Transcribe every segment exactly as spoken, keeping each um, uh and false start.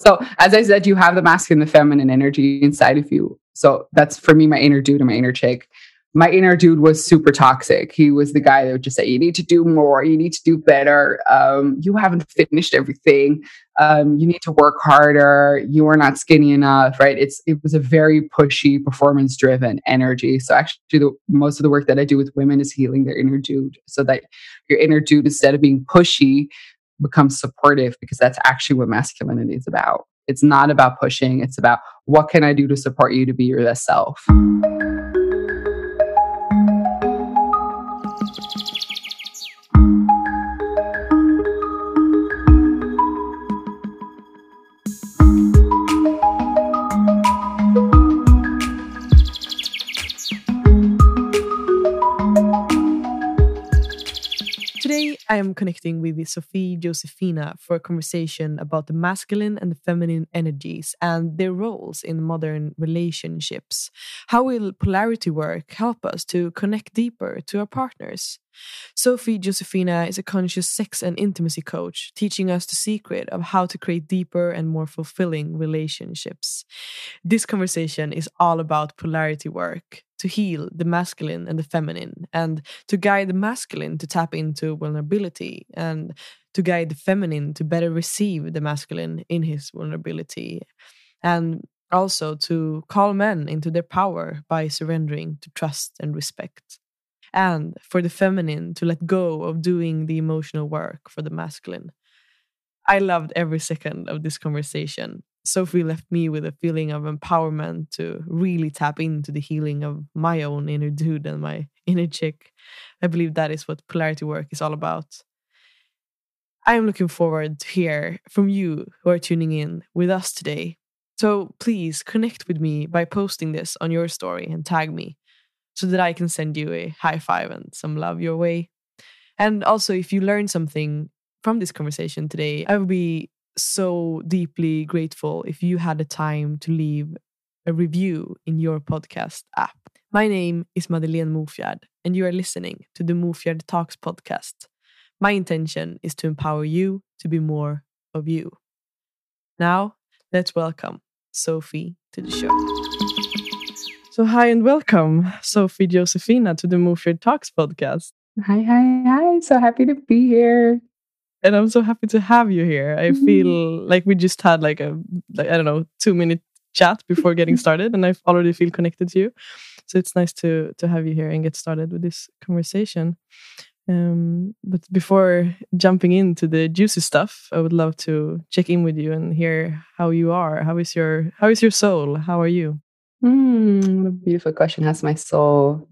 So as I said, you have the masculine and the feminine energy inside of you. So that's for me, my inner dude and my inner chick. My inner dude was super toxic. He was the guy that would just say, you need to do more. You need to do better. Um, you haven't finished everything. Um, you need to work harder. You are not skinny enough, right? It's It was a very pushy, performance-driven energy. So actually, the, most of the work that I do with women is healing their inner dude, so that your inner dude, instead of being pushy, becomes supportive, because that's actually what masculinity is about. It's not about pushing. It's about, what can I do to support you to be your best self? Today, I am connecting with Sophie Josefina for a conversation about the masculine and the feminine energies and their roles in modern relationships. How will polarity work help us to connect deeper to our partners? Sophie Josefina is a conscious sex and intimacy coach, teaching us the secret of how to create deeper and more fulfilling relationships. This conversation is all about polarity work, to heal the masculine and the feminine, and to guide the masculine to tap into vulnerability, and to guide the feminine to better receive the masculine in his vulnerability, and also to call men into their power by surrendering to trust and respect, and for the feminine to let go of doing the emotional work for the masculine. I loved every second of this conversation. Sophie left me with a feeling of empowerment to really tap into the healing of my own inner dude and my inner chick. I believe that is what polarity work is all about. I am looking forward to hear from you who are tuning in with us today. So please connect with me by posting this on your story and tag me, so that I can send you a high five and some love your way. And also, if you learned something from this conversation today, I would be so deeply grateful if you had the time to leave a review in your podcast app. My name is Madeleine Mofjärd, and you are listening to the Mofjärd Talks podcast. My intention is to empower you to be more of you. Now, let's welcome Sophie to the show. So hi and welcome, Sophie Josefina, to the Mofjärd Talks podcast. Hi, hi, hi. So happy to be here. And I'm so happy to have you here. I mm-hmm. feel like we just had like a, like, I don't know, two minute chat before getting started, and I already feel connected to you. So it's nice to to have you here and get started with this conversation. Um, but before jumping into the juicy stuff, I would love to check in with you and hear how you are. How is your How is your soul? How are you? Mm, what a beautiful question. How's my soul?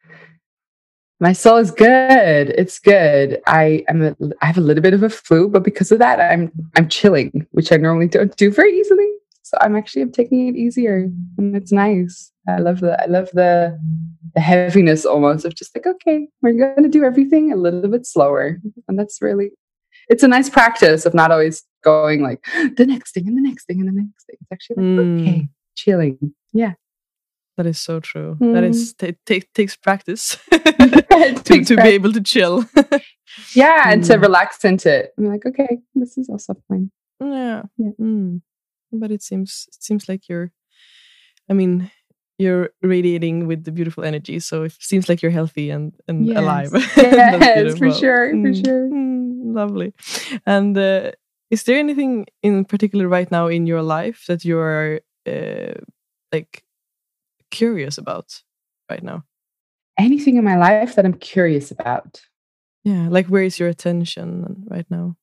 My soul is good. It's good. I am. A, I have a little bit of a flu, but because of that, I'm I'm chilling, which I normally don't do very easily. So I'm actually I'm taking it easier, and it's nice. I love the I love the the heaviness almost of just like, okay, we're going to do everything a little bit slower, and that's really. It's a nice practice of not always going like the next thing and the next thing and the next thing. It's actually like mm. okay, chilling. Yeah. That is so true. Mm. That is t- t- takes practice to, takes to practice. Be able to chill. Yeah, and mm. to relax into it. I'm like, okay, this is also fine. Yeah, yeah. Mm. But it seems it seems like you're. I mean, you're radiating with the beautiful energy, so it seems like you're healthy and and yes. alive. Yes, for sure, mm. for sure. Mm. Lovely. And uh, is there anything in particular right now in your life that you're uh, like? curious about right now? Anything in my life that I'm curious about? Yeah, like where is your attention right now?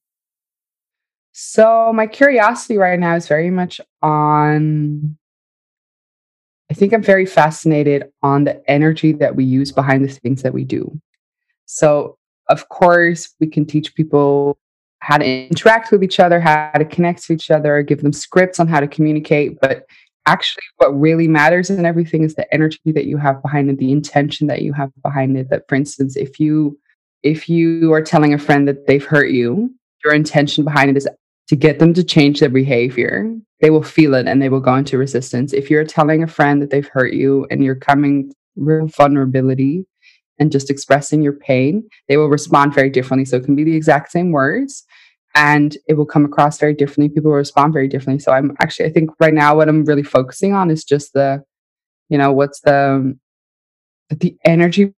So my curiosity right now is very much on, I think I'm very fascinated on the energy that we use behind the things that we do. So of course we can teach people how to interact with each other, how to connect to each other, give them scripts on how to communicate, but actually what really matters in everything is the energy that you have behind it, the intention that you have behind it. That, for instance, if you if you are telling a friend that they've hurt you, your intention behind it is to get them to change their behavior. They will feel it and they will go into resistance. If you're telling a friend that they've hurt you and you're coming real vulnerability and just expressing your pain, they will respond very differently. So it can be the exact same words, and it will come across very differently. People will respond very differently. So I'm actually, I think right now what I'm really focusing on is just the, you know, what's the, the energy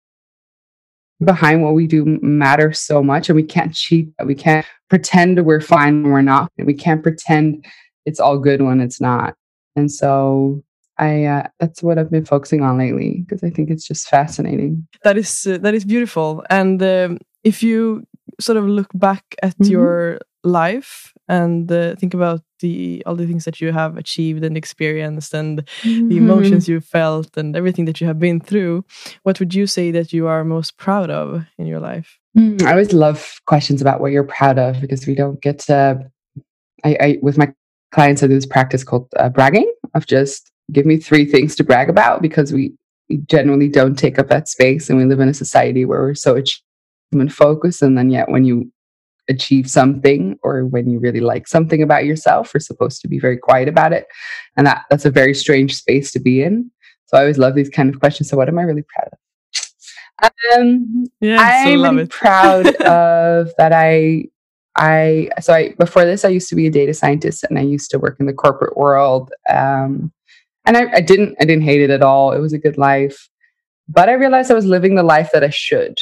behind what we do matters so much, and we can't cheat. We can't pretend we're fine when we're not, and we can't pretend it's all good when it's not. And so I, uh, that's what I've been focusing on lately, because I think it's just fascinating. That is uh, that is beautiful. And um, if you sort of look back at mm-hmm. your life and uh, think about the all the things that you have achieved and experienced, and mm-hmm. the emotions you felt and everything that you have been through, what would you say that you are most proud of in your life? Mm, I always love questions about what you're proud of, because we don't get to. I, I with my clients, I do this practice called uh, bragging, of just give me three things to brag about, because we, we generally don't take up that space, and we live in a society where we're so achievement focused, and then yet when you achieve something or when you really like something about yourself, we're supposed to be very quiet about it, and that that's a very strange space to be in. So I always love these kind of questions. So what am I really proud of? Um, yes, I'm love really it. proud of that. I I so I before this I used to be a data scientist, and I used to work in the corporate world. Um, and I, I didn't I didn't hate it at all. It was a good life, but I realized I was living the life that I should.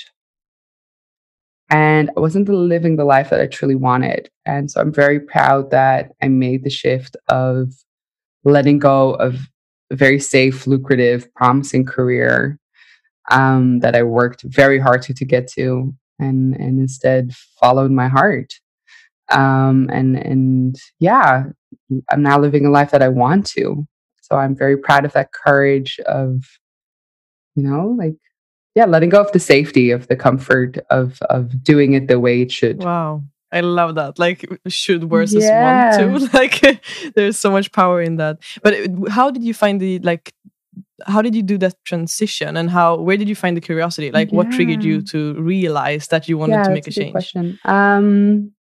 And I wasn't living the life that I truly wanted. And so I'm very proud that I made the shift of letting go of a very safe, lucrative, promising career um, that I worked very hard to, to get to, and, and instead followed my heart. Um, and, and yeah, I'm now living a life that I want to. So I'm very proud of that courage of, you know, like, yeah, letting go of the safety, of the comfort of of doing it the way it should. Wow. I love that. Like, should versus yeah. want to. Like, there's so much power in that. But how did you find the, like, how did you do that transition, and how, where did you find the curiosity? Like, yeah. what triggered you to realize that you wanted yeah, to make that's a, a good change? Question. Um,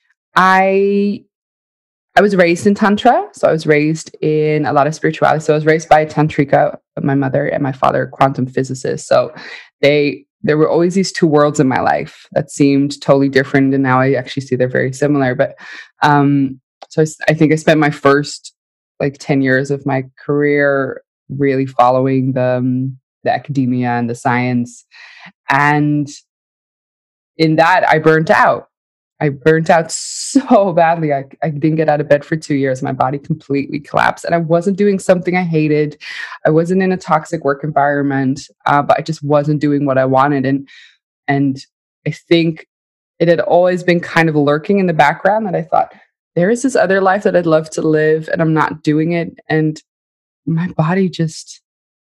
I I was raised in Tantra. So I was raised in a lot of spirituality. So I was raised by a Tantrika, my mother, and my father, quantum physicist. So they, there were always these two worlds in my life that seemed totally different. And now I actually see they're very similar. But um, so I, I think I spent my first like ten years of my career really following the, um, the academia and the science. And in that, I burnt out. I burnt out so badly. I, I didn't get out of bed for two years. My body completely collapsed, and I wasn't doing something I hated. I wasn't in a toxic work environment, uh, but I just wasn't doing what I wanted. And, and I think it had always been kind of lurking in the background that I thought, there is this other life that I'd love to live, and I'm not doing it. And my body just,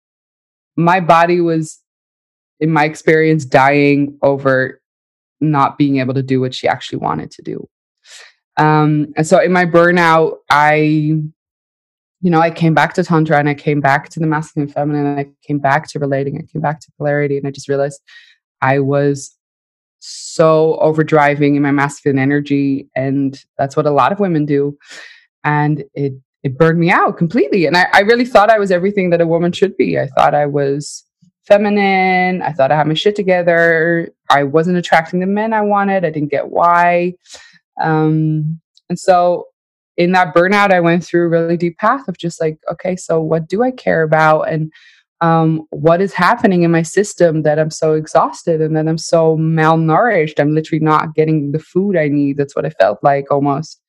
my body was, in my experience, dying over not being able to do what she actually wanted to do. Um, and so in my burnout, I, you know, I came back to Tantra, and I came back to the masculine and feminine, and I came back to relating, I came back to polarity. And I just realized I was so overdriving in my masculine energy. And that's what a lot of women do. And it, it burned me out completely. And I, I really thought I was everything that a woman should be. I thought I was feminine. I thought I had my shit together. I wasn't attracting the men I wanted. I didn't get why. Um, and so in that burnout, I went through a really deep path of just like, okay, so what do I care about? And um, what is happening in my system that I'm so exhausted and that I'm so malnourished? I'm literally not getting the food I need. That's what I felt like almost.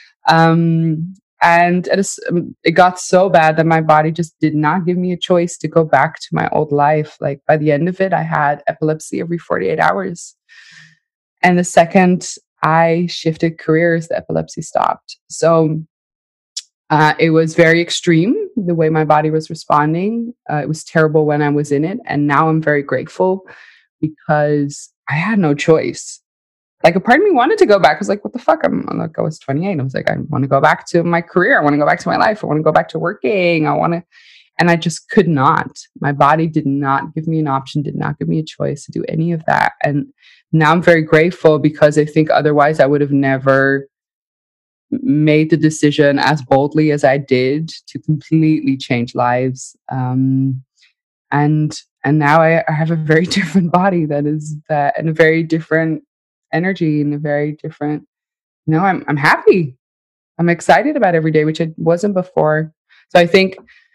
Um, And it, is, it got so bad that my body just did not give me a choice to go back to my old life. Like by the end of it, I had epilepsy every forty-eight hours. And the second I shifted careers, the epilepsy stopped. So uh, it was very extreme, the way my body was responding. Uh, it was terrible when I was in it. And now I'm very grateful because I had no choice. Like a part of me wanted to go back. I was like, what the fuck? I'm, I'm like, I was twenty-eight. I was like, I want to go back to my career. I want to go back to my life. I want to go back to working. I want to, and I just could not. My body did not give me an option, did not give me a choice to do any of that. And now I'm very grateful because I think otherwise I would have never made the decision as boldly as I did to completely change lives. Um, and, and now I, I have a very different body that is that, and a very different energy and a very different you know, I'm I'm happy. I'm excited about every day, which I wasn't before. So I think,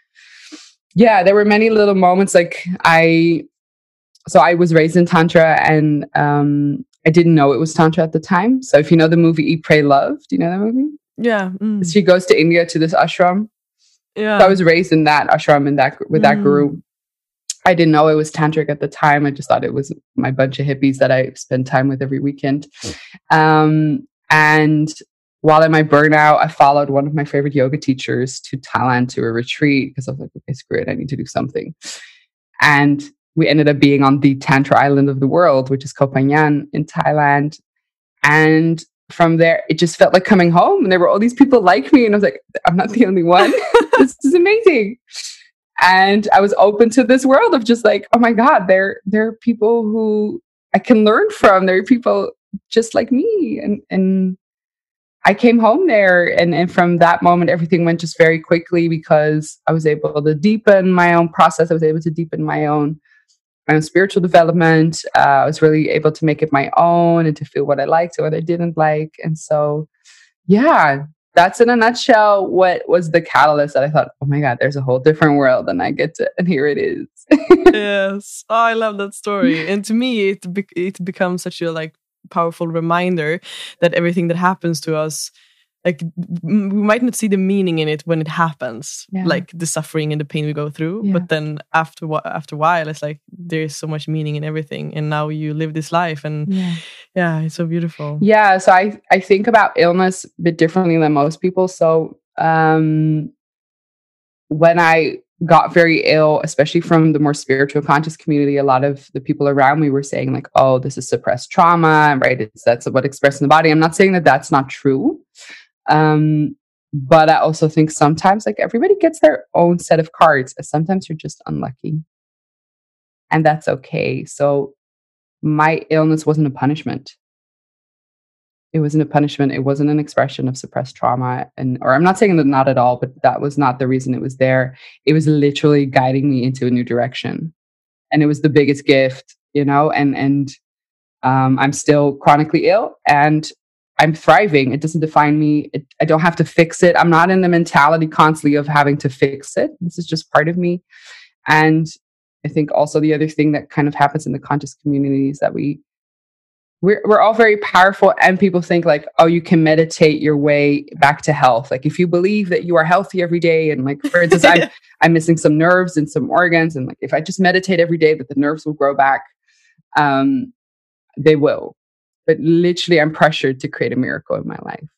yeah, there were many little moments. Like I, so I was raised in Tantra, and um, I didn't know it was Tantra at the time. So if you know the movie Eat, Pray, Love, do you know that movie? Yeah. Mm. She goes to India to this ashram. Yeah. So I was raised in that ashram in that with that mm. guru. I didn't know it was tantric at the time. I just thought it was my bunch of hippies that I spend time with every weekend. Um, and while in my burnout, I followed one of my favorite yoga teachers to Thailand to a retreat because I was like, okay, screw it, I need to do something. And we ended up being on the Tantra island of the world, which is Koh Phangan in Thailand. And from there, it just felt like coming home. And there were all these people like me. And I was like, I'm not the only one. This is amazing. And I was open to this world of just like, oh my God, there, there are people who I can learn from. There are people just like me. And, and I came home there. And, and from that moment, everything went just very quickly because I was able to deepen my own process. I was able to deepen my own, my own spiritual development. Uh, I was really able to make it my own and to feel what I liked and what I didn't like. And so, yeah. That's in a nutshell what was the catalyst that I thought, oh my God, there's a whole different world and I get to, and here it is. Yes. Oh, I love that story. And to me, it be- it becomes such a like powerful reminder that everything that happens to us, like we might not see the meaning in it when it happens, yeah. like the suffering and the pain we go through. Yeah. But then after after a while, it's like there's so much meaning in everything. And now you live this life, and yeah, yeah it's so beautiful. Yeah. So I I think about illness a bit differently than most people. So um, when I got very ill, especially from the more spiritual conscious community, a lot of the people around me were saying like, "Oh, this is suppressed trauma, right? It's that's what expressed in the body." I'm not saying that that's not true. Um, but I also think sometimes like everybody gets their own set of cards. Sometimes you're just unlucky, and that's okay. So my illness wasn't a punishment. It wasn't a punishment. It wasn't an expression of suppressed trauma. And, or I'm not saying that not at all, but that was not the reason it was there. It was literally guiding me into a new direction. And it was the biggest gift, you know, and, and, um, I'm still chronically ill and I'm thriving. It doesn't define me. It, I don't have to fix it. I'm not in the mentality constantly of having to fix it. This is just part of me. And I think also the other thing that kind of happens in the conscious community is that we, we're, we're all very powerful, and people think like, oh, you can meditate your way back to health. Like if you believe that you are healthy every day, and like, for instance, I'm, I'm missing some nerves and some organs. And like, if I just meditate every day, that the nerves will grow back. Um, they will. But literally, I'm pressured to create a miracle in my life.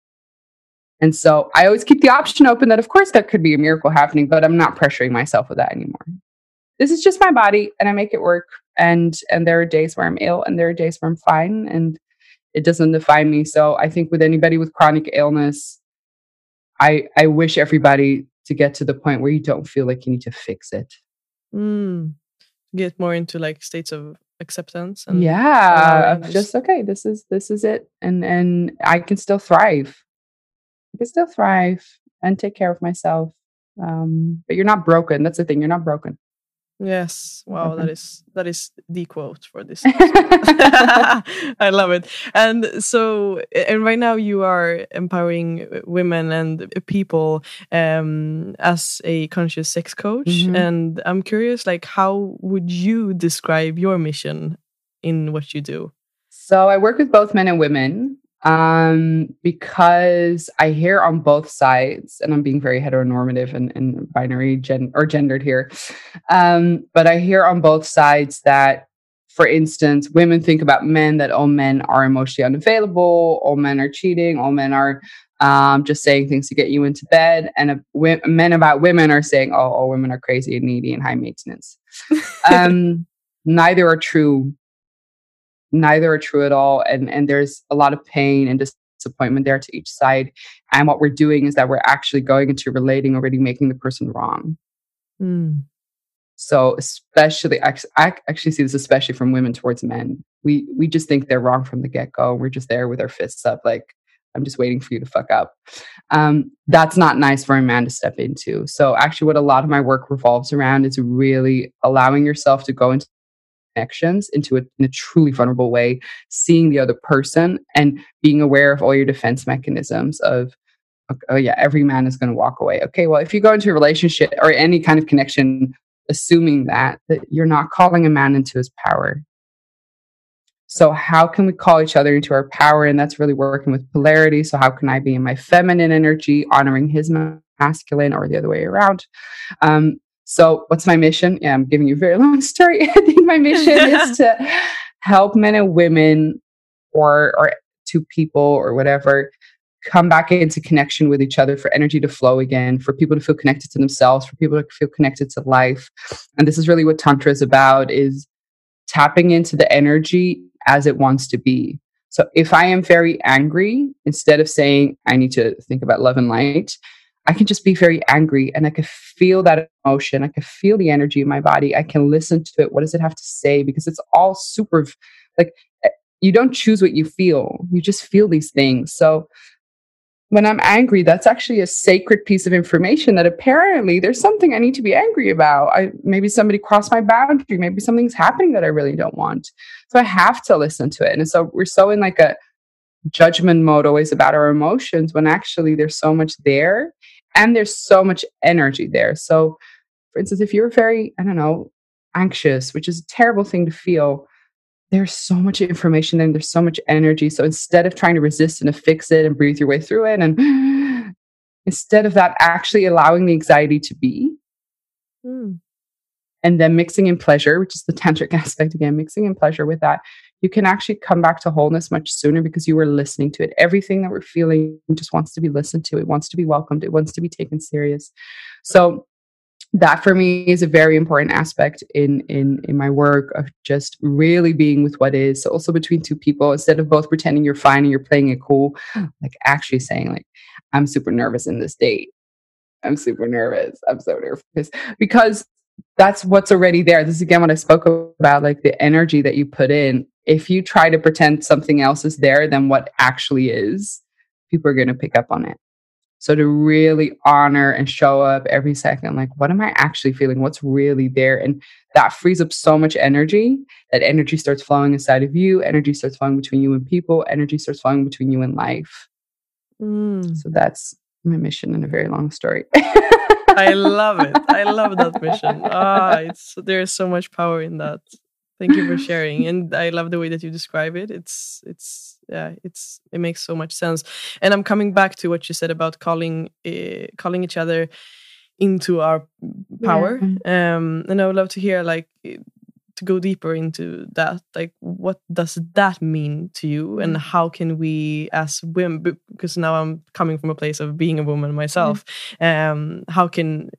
And so I always keep the option open that, of course, there could be a miracle happening, but I'm not pressuring myself with that anymore. This is just my body, and I make it work. And and there are days where I'm ill, and there are days where I'm fine, and it doesn't define me. So I think with anybody with chronic illness, I I wish everybody to get to the point where you don't feel like you need to fix it. Mm. Get more into like states of acceptance and yeah uh, just okay this is this is it and and I can still thrive I can still thrive and take care of myself, um but you're not broken. That's the thing, you're not broken. Yes. Wow, that is that is the quote for this. I love it. And so, and right now you are empowering women and people um, as a conscious sex coach. Mm-hmm. And I'm curious, like, how would you describe your mission in what you do? So I work with both men and women. Um, because I hear on both sides, and I'm being very heteronormative and, and binary gen or gendered here. Um, but I hear on both sides that, for instance, women think about men that all men are emotionally unavailable, all men are cheating, all men are um, just saying things to get you into bed. And uh, w- men about women are saying, oh, all women are crazy and needy and high maintenance. um, neither are true. Neither are true at all. And, and there's a lot of pain and disappointment there to each side. And what we're doing is that we're actually going into relating, already making the person wrong. Mm. So especially, I actually see this especially from women towards men. We we just think they're wrong from the get-go. We're just there with our fists up like, I'm just waiting for you to fuck up. Um, that's not nice for a man to step into. So actually what a lot of my work revolves around is really allowing yourself to go into connections into a, in a truly vulnerable way, seeing the other person and being aware of all your defense mechanisms of, oh yeah, every man is going to walk away. Okay, well, if you go into a relationship or any kind of connection, assuming that, that you're not calling a man into his power. So how can we call each other into our power? And that's really working with polarity. So how can I be in my feminine energy, honoring his masculine, or the other way around? Um, so what's my mission? Yeah, I'm giving you a very long story. I think my mission is to help men and women, or or two people or whatever, come back into connection with each other, for energy to flow again, for people to feel connected to themselves, for people to feel connected to life. And this is really what Tantra is about, is tapping into the energy as it wants to be. So if I am very angry, instead of saying I need to think about love and light, I can just be very angry, and I can feel that emotion. I can feel the energy in my body. I can listen to it. What does it have to say? Because it's all super, like, you don't choose what you feel. You just feel these things. So when I'm angry, that's actually a sacred piece of information that apparently there's something I need to be angry about. I, maybe somebody crossed my boundary. Maybe something's happening that I really don't want. So I have to listen to it. And so we're so in like a judgment mode always about our emotions, when actually there's so much there and there's so much energy there. So for instance, if you're very, I don't know, anxious, which is a terrible thing to feel, there's so much information and there's so much energy. So instead of trying to resist and to fix it and breathe your way through it, and instead of that, actually allowing the anxiety to be, mm. and then mixing in pleasure, which is the tantric aspect again, mixing in pleasure with that, you can actually come back to wholeness much sooner, because you were listening to it. Everything that we're feeling just wants to be listened to. It wants to be welcomed. It wants to be taken serious. So that for me is a very important aspect in, in, in my work, of just really being with what is. So also between two people, instead of both pretending you're fine and you're playing it cool, like actually saying like, I'm super nervous in this date. I'm super nervous. I'm so nervous, because that's what's already there. This is again what I spoke about, like the energy that you put in. If you try to pretend something else is there than what actually is, people are going to pick up on it. So to really honor and show up every second, like, what am I actually feeling? What's really there? And that frees up so much energy. That energy starts flowing inside of you. Energy starts flowing between you and people. Energy starts flowing between you and life. Mm. So that's my mission in a very long story. I love it. I love that mission. Ah, it's there's so much power in that. Thank you for sharing, and I love the way that you describe it. It's it's yeah, it's it makes so much sense. And I'm coming back to what you said about calling uh, calling each other into our power. Yeah. Um, and I would love to hear, like, to go deeper into that. Like, what does that mean to you, and how can we, as women, because now I'm coming from a place of being a woman myself, mm. um, how can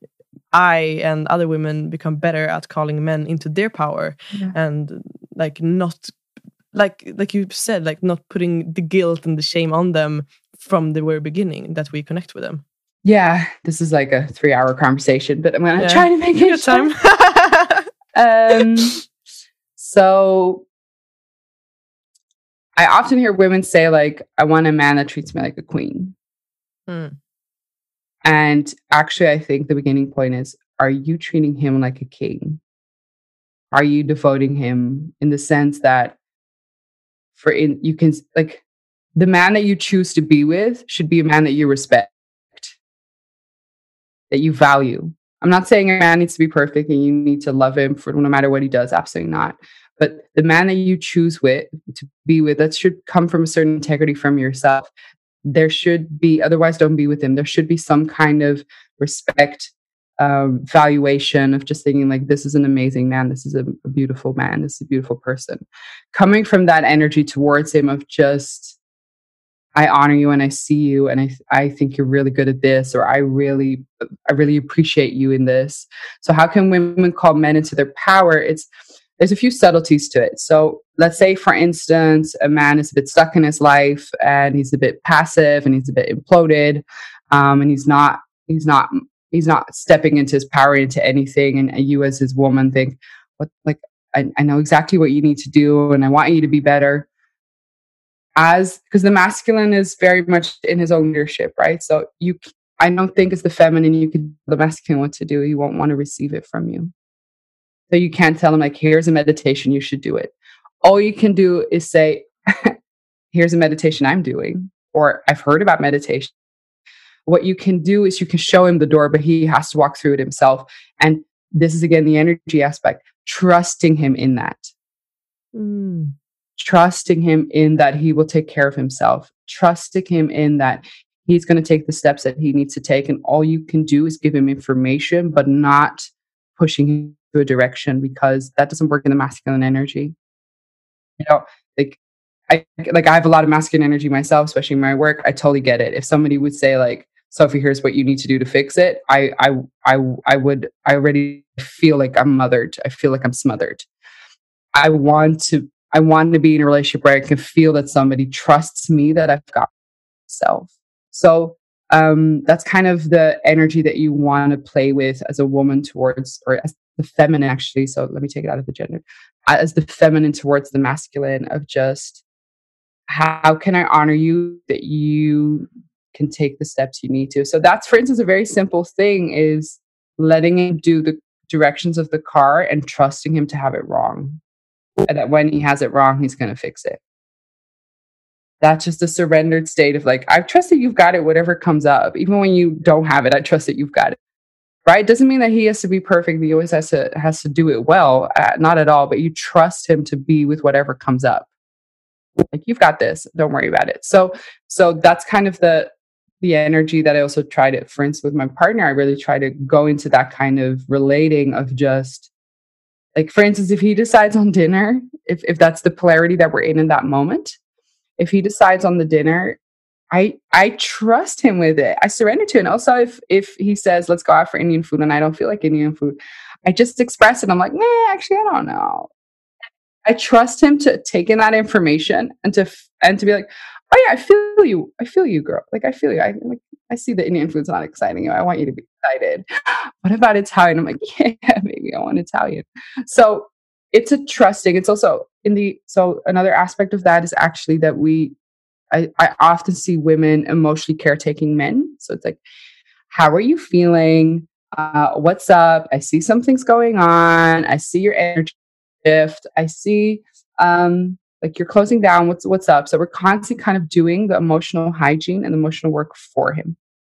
I and other women become better at calling men into their power, yeah. and like not like like you said, like not putting the guilt and the shame on them from the very beginning that we connect with them. Yeah, this is like a three-hour conversation, but I'm gonna yeah. try to make it time. um, so I often hear women say, like, I want a man that treats me like a queen. Hmm. And actually, I think the beginning point is, are you treating him like a king? Are you devoting him in the sense that for in, you can, like, the man that you choose to be with should be a man that you respect, that you value. I'm not saying a man needs to be perfect and you need to love him for no matter what he does. Absolutely not. But the man that you choose with to be with, that should come from a certain integrity from yourself. There should be, otherwise don't be with him. There should be some kind of respect, um, valuation of just thinking like, this is an amazing man. This is a, a beautiful man. This is a beautiful person. Coming from that energy towards him of just, I honor you and I see you and I I think you're really good at this, or I really I really appreciate you in this. So how can women call men into their power? It's there's a few subtleties to it. So let's say, for instance, a man is a bit stuck in his life and he's a bit passive and he's a bit imploded, um, and he's not he's not he's not stepping into his power into anything. And you as his woman think, what like I, I know exactly what you need to do and I want you to be better. As because the masculine is very much in his own leadership, right? So you, I don't think as the feminine you could tell the masculine what to do. He won't want to receive it from you. So you can't tell them like, here's a meditation, you should do it. All you can do is say, here's a meditation I'm doing, or I've heard about meditation. What you can do is you can show him the door, but he has to walk through it himself. And this is again the energy aspect, trusting him in that. Mm. Trusting him in that he will take care of himself, trusting him in that he's going to take the steps that he needs to take. And all you can do is give him information, but not pushing him to a direction, because that doesn't work in the masculine energy. You know, like I like I have a lot of masculine energy myself, especially in my work. I totally get it. If somebody would say like, Sophie, here's what you need to do to fix it, I I I I would I already feel like I'm mothered. I feel like I'm smothered. I want to I want to be in a relationship where I can feel that somebody trusts me, that I've got myself. So um, that's kind of the energy that you want to play with as a woman towards, or as the feminine, actually. So let me take it out of the gender, as the feminine towards the masculine, of just, how can I honor you that you can take the steps you need to? So that's, for instance, a very simple thing is letting him do the directions of the car and trusting him to have it wrong. And that when he has it wrong, he's going to fix it. That's just a surrendered state of like, I trust that you've got it, whatever comes up. Even when you don't have it, I trust that you've got it. Right? Doesn't mean that he has to be perfect. He always has to, has to do it well. Uh, not at all. But you trust him to be with whatever comes up. Like, you've got this. Don't worry about it. So, so that's kind of the, the energy that I also try to, for instance, with my partner, I really try to go into that kind of relating of just like, for instance, if he decides on dinner, if, if that's the polarity that we're in in that moment, if he decides on the dinner, I I trust him with it. I surrender to it. And also, if if he says, let's go out for Indian food, and I don't feel like Indian food, I just express it. I'm like, nah, actually, I don't know. I trust him to take in that information and to and to be like, oh yeah, I feel you. I feel you, girl. Like, I feel you. I like I see the Indian food's not exciting you. I want you to be excited. What about Italian? I'm like, yeah, maybe I want Italian. So it's a trusting. It's also in the, so another aspect of that is actually that we, I, I often see women emotionally caretaking men. So it's like, how are you feeling? Uh, what's up? I see something's going on. I see your energy shift. I see, um, like you're closing down. What's, what's up? So we're constantly kind of doing the emotional hygiene and emotional work for him.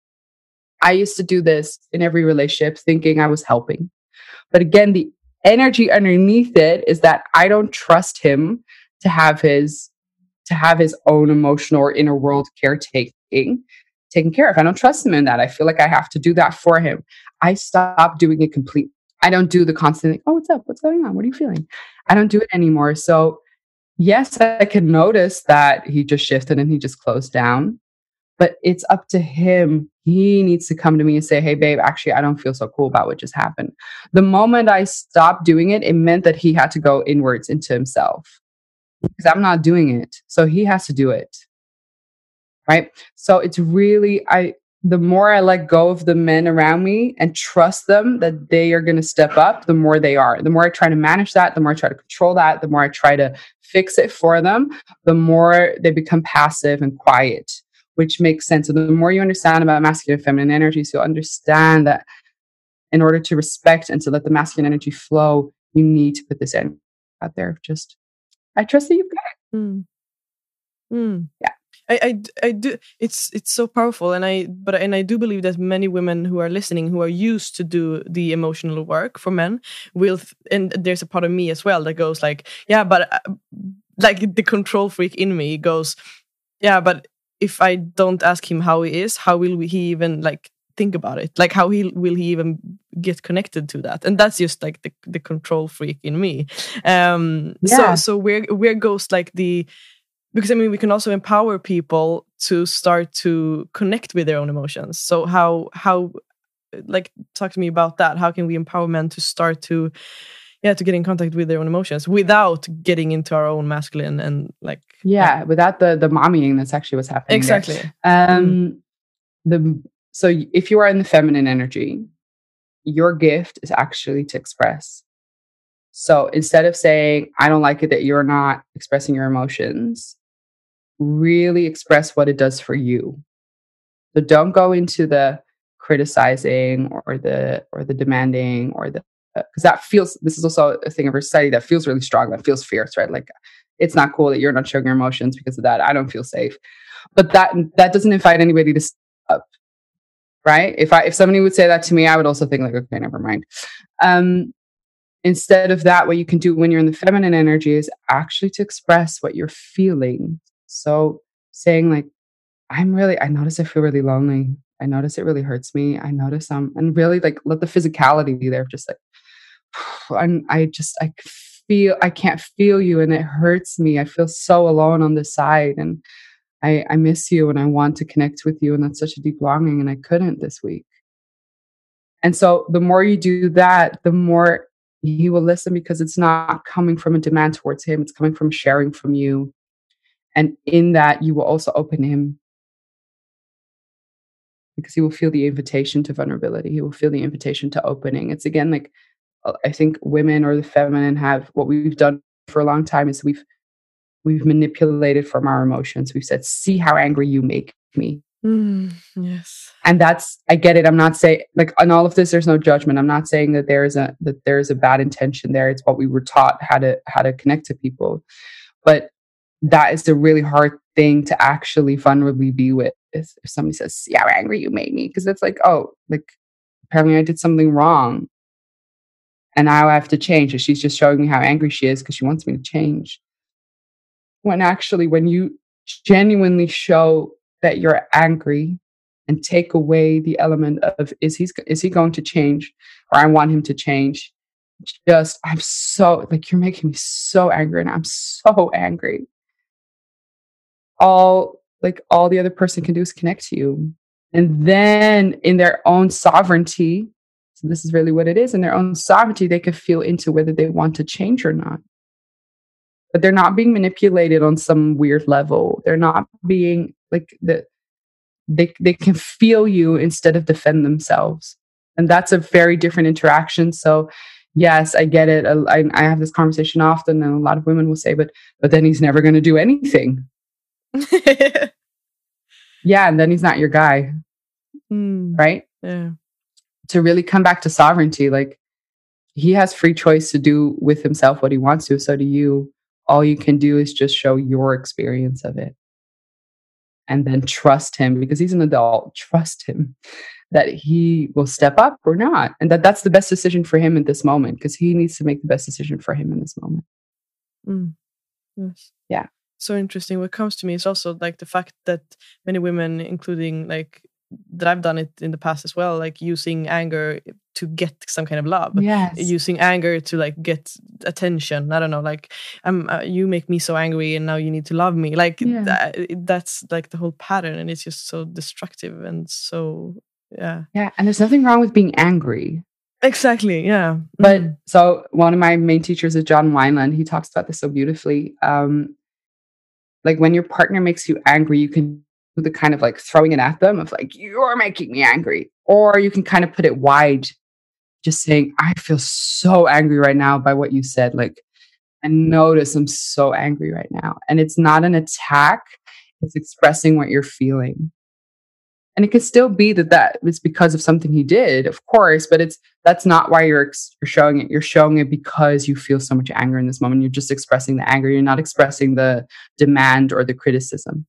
I used to do this in every relationship thinking I was helping. But again, the energy underneath it is that I don't trust him to have his to have his own emotional or inner world caretaking taken care of. I don't trust him in that. I feel like I have to do that for him. I stop doing it completely. I don't do the constant, oh, what's up? What's going on? What are you feeling? I don't do it anymore. So yes, I can notice that he just shifted and he just closed down. But it's up to him. He needs to come to me and say, hey, babe, actually, I don't feel so cool about what just happened. The moment I stopped doing it, it meant that he had to go inwards into himself because I'm not doing it. So he has to do it. Right. So it's really, I, the more I let go of the men around me and trust them that they are going to step up, the more they are. The more I try to manage that, the more I try to control that, the more I try to fix it for them, the more they become passive and quiet. Which makes sense. So the more you understand about masculine and feminine energies, you'll understand that in order to respect and to let the masculine energy flow, you need to put this in out there. Just, I trust that you've got it. Mm. Mm. Yeah. I, I, I do. It's it's so powerful, and I but and I do believe that many women who are listening, who are used to do the emotional work for men, will. And there's a part of me as well that goes like, yeah, but uh, like the control freak in me goes, yeah, but if I don't ask him how he is, how will he even like think about it? Like, how he will he even get connected to that? And that's just like the, the control freak in me. Um, yeah. So so where where goes like the, because I mean we can also empower people to start to connect with their own emotions. So how how like talk to me about that. How can we empower men to start to yeah to get in contact with their own emotions without getting into our own masculine and like yeah, yeah. without the the mommying? That's actually what's happening exactly there. um mm. the so if you are in the feminine energy, your gift is actually to express. So instead of saying I don't like it that you're not expressing your emotions, really express what it does for you. So don't go into the criticizing or the or the demanding or the because that feels, this is also a thing of our society that feels really strong, that feels fierce, right? Like, it's not cool that you're not showing your emotions because of that. I don't feel safe. But that that doesn't invite anybody to stop, right? If I if somebody would say that to me, I would also think like, okay, never mind. Um, instead of that, what you can do when you're in the feminine energy is actually to express what you're feeling. So saying like, I'm really, I notice I feel really lonely. I notice it really hurts me. I notice I'm, and really like let the physicality be there. Just like, I'm, I just, I feel, I can't feel you and it hurts me. I feel so alone on this side and I, I miss you and I want to connect with you. And that's such a deep longing and I couldn't this week. And so the more you do that, the more he will listen because it's not coming from a demand towards him. It's coming from sharing from you. And in that, you will also open him because he will feel the invitation to vulnerability. He will feel the invitation to opening. It's again, like, I think women or the feminine have, what we've done for a long time is we've, we've manipulated from our emotions. We've said, see how angry you make me. Mm, yes. And that's, I get it. I'm not saying like on all of this, there's no judgment. I'm not saying that there is a, that there's a bad intention there. It's what we were taught how to, how to connect to people. But that is a really hard thing to actually vulnerably be with. If somebody says, see how angry you made me. Cause it's like, oh, like apparently I did something wrong. And now I have to change. And she's just showing me how angry she is because she wants me to change. When actually, when you genuinely show that you're angry and take away the element of, is he, is he going to change? Or I want him to change. Just, I'm so, like, you're making me so angry and I'm so angry. All, like, all the other person can do is connect to you. And then in their own sovereignty, so this is really what it is, in their own sovereignty, they can feel into whether they want to change or not. But they're not being manipulated on some weird level. They're not being like the, they, they can feel you instead of defend themselves. And that's a very different interaction. So yes, I get it. I, I have this conversation often and a lot of women will say, but, but then he's never going to do anything. Yeah. And then he's not your guy. Mm, right? Yeah. To really come back to sovereignty, like he has free choice to do with himself what he wants to. So do you. All you can do is just show your experience of it. And then trust him because he's an adult. Trust him that he will step up or not. And that that's the best decision for him in this moment because he needs to make the best decision for him in this moment. Mm. Yes. Yeah. So interesting. What comes to me is also like the fact that many women, including like that I've done it in the past as well, like using anger to get some kind of love. Yes. Using anger to like get attention. I don't know, like I'm, uh, you make me so angry and now you need to love me. Like yeah. th- that's like the whole pattern and it's just so destructive and so, yeah. Yeah. And there's nothing wrong with being angry. Exactly. Yeah. But mm. so one of my main teachers is John Wineland. He talks about this so beautifully. Um, like when your partner makes you angry, you can do the kind of like throwing it at them of like, you're making me angry. Or you can kind of put it wide, just saying, I feel so angry right now by what you said. Like, and notice I'm so angry right now. And it's not an attack. It's expressing what you're feeling. And it could still be that that it's because of something he did, of course, but it's, that's not why you're, you're showing it. You're showing it because you feel so much anger in this moment. You're just expressing the anger. You're not expressing the demand or the criticism.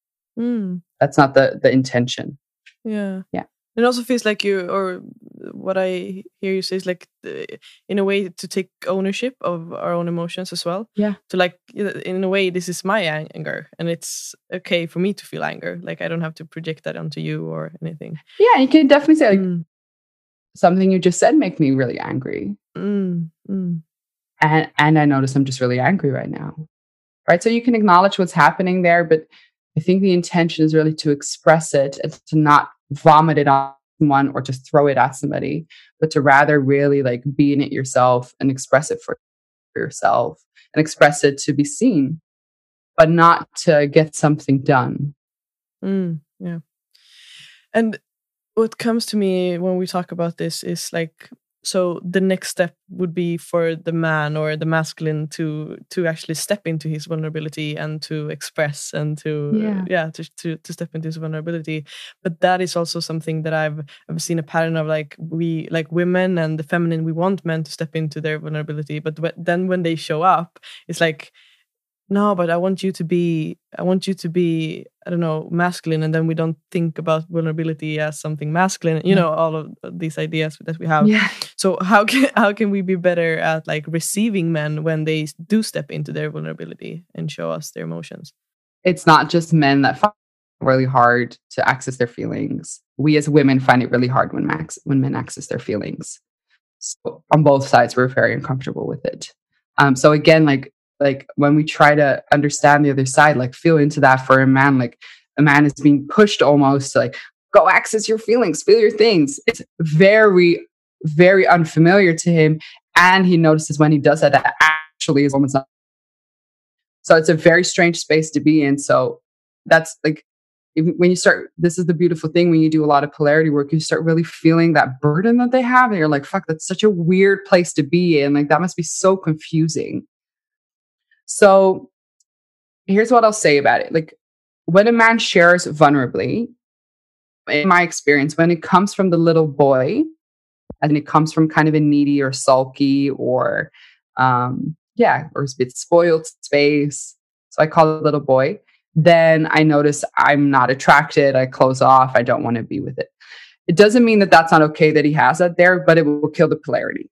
Mm. That's not the, the intention. Yeah. Yeah. It also feels like you, or what I hear you say is like, uh, in a way, to take ownership of our own emotions as well. Yeah. To like, in a way, this is my anger, and it's okay for me to feel anger. Like I don't have to project that onto you or anything. Yeah, you can definitely say like mm. something you just said make me really angry, mm. Mm. and and I notice I'm just really angry right now. Right, so you can acknowledge what's happening there, but I think the intention is really to express it and to not vomit it on someone or just throw it at somebody, but to rather really like be in it yourself and express it for yourself and express it to be seen, but not to get something done. Mm, yeah. And what comes to me when we talk about this is like so the next step would be for the man or the masculine to to actually step into his vulnerability and to express and to Yeah. uh, yeah to, to to step into his vulnerability. But that is also something that I've I've seen a pattern of, like we like women and the feminine, we want men to step into their vulnerability, but w- then when they show up, it's like, no, but I want you to be, I want you to be, I don't know, masculine. And then we don't think about vulnerability as something masculine, you Yeah. know, all of these ideas that we have. Yeah. So how can, how can we be better at like receiving men when they do step into their vulnerability and show us their emotions? It's not just men that find it really hard to access their feelings. We as women find it really hard when max, when men access their feelings. So on both sides, we're very uncomfortable with it. Um, so again, like, like when we try to understand the other side, like feel into that for a man, like a man is being pushed almost to like, go access your feelings, feel your things. It's very, very unfamiliar to him. And he notices when he does that, that actually his woman's not. So it's a very strange space to be in. So that's like, if, when you start, this is the beautiful thing when you do a lot of polarity work, you start really feeling that burden that they have. And you're like, fuck, that's such a weird place to be in. Like, that must be so confusing. So here's what I'll say about it. Like, when a man shares vulnerably, in my experience, when it comes from the little boy, and it comes from kind of a needy or sulky or, um, yeah, or a bit spoiled space, so I call it little boy, then I notice I'm not attracted. I close off. I don't want to be with it. It doesn't mean that that's not okay that he has that there, but it will kill the polarity.